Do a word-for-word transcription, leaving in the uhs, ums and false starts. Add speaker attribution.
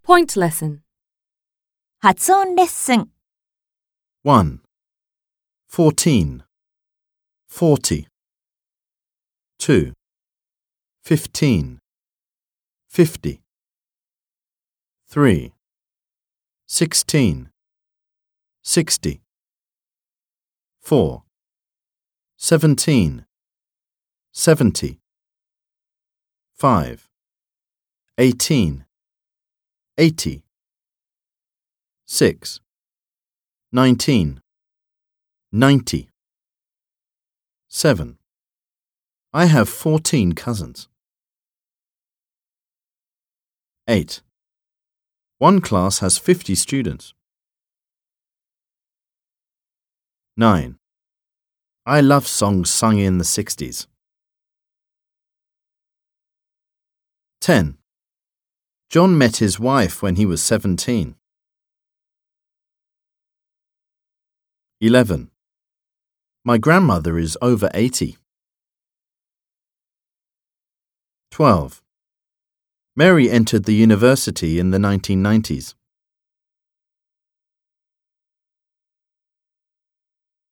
Speaker 1: Point lesson.
Speaker 2: 発音レッスン
Speaker 3: one. fourteen. forty. two. fifteen. fifty. three. sixteen. sixty. four. seventeen. seventy. five. eighteen. eighty. six. nineteen. ninety. seven. I have fourteen cousins. eight. One class has fifty students. nine. I love songs sung in the sixties. ten. John met his wife when he was seventeen. eleven. My grandmother is over eighty. twelve. Mary entered the university in the nineteen nineties.